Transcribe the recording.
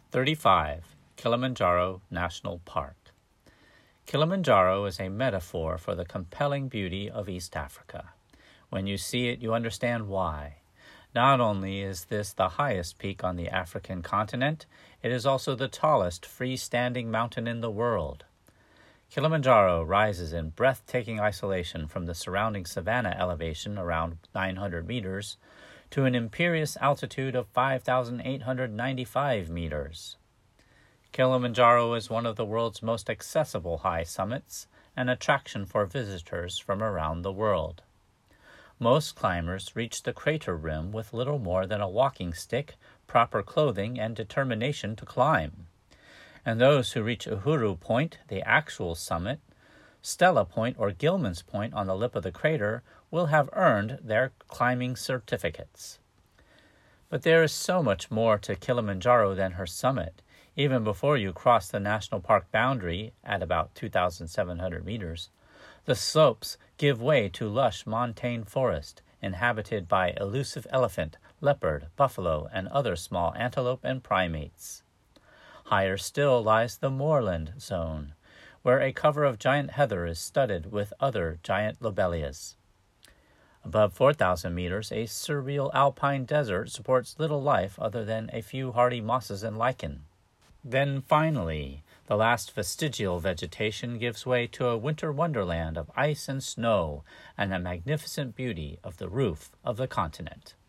35. Kilimanjaro National Park. Kilimanjaro is a metaphor for the compelling beauty of East Africa. When you see it, you understand why. Not only is this the highest peak on the African continent, it is also the tallest freestanding mountain in the world. Kilimanjaro rises in breathtaking isolation from the surrounding savanna elevation around 900 meters to an imperious altitude of 5,895 meters. Kilimanjaro is one of the world's most accessible high summits, an attraction for visitors from around the world. Most climbers reach the crater rim with little more than a walking stick, proper clothing, and determination to climb. And those who reach Uhuru Point, the actual summit, Stella Point or Gilman's Point on the lip of the crater, will have earned their climbing certificates. But there is so much more to Kilimanjaro than her summit. Even before you cross the national park boundary at about 2,700 meters, the slopes give way to lush montane forest inhabited by elusive elephant, leopard, buffalo, and other small antelope and primates. Higher still lies the moorland zone, where a cover of giant heather is studded with other giant lobelias. Above 4,000 meters, a surreal alpine desert supports little life other than a few hardy mosses and lichen. Then finally, the last vestigial vegetation gives way to a winter wonderland of ice and snow and the magnificent beauty of the roof of the continent.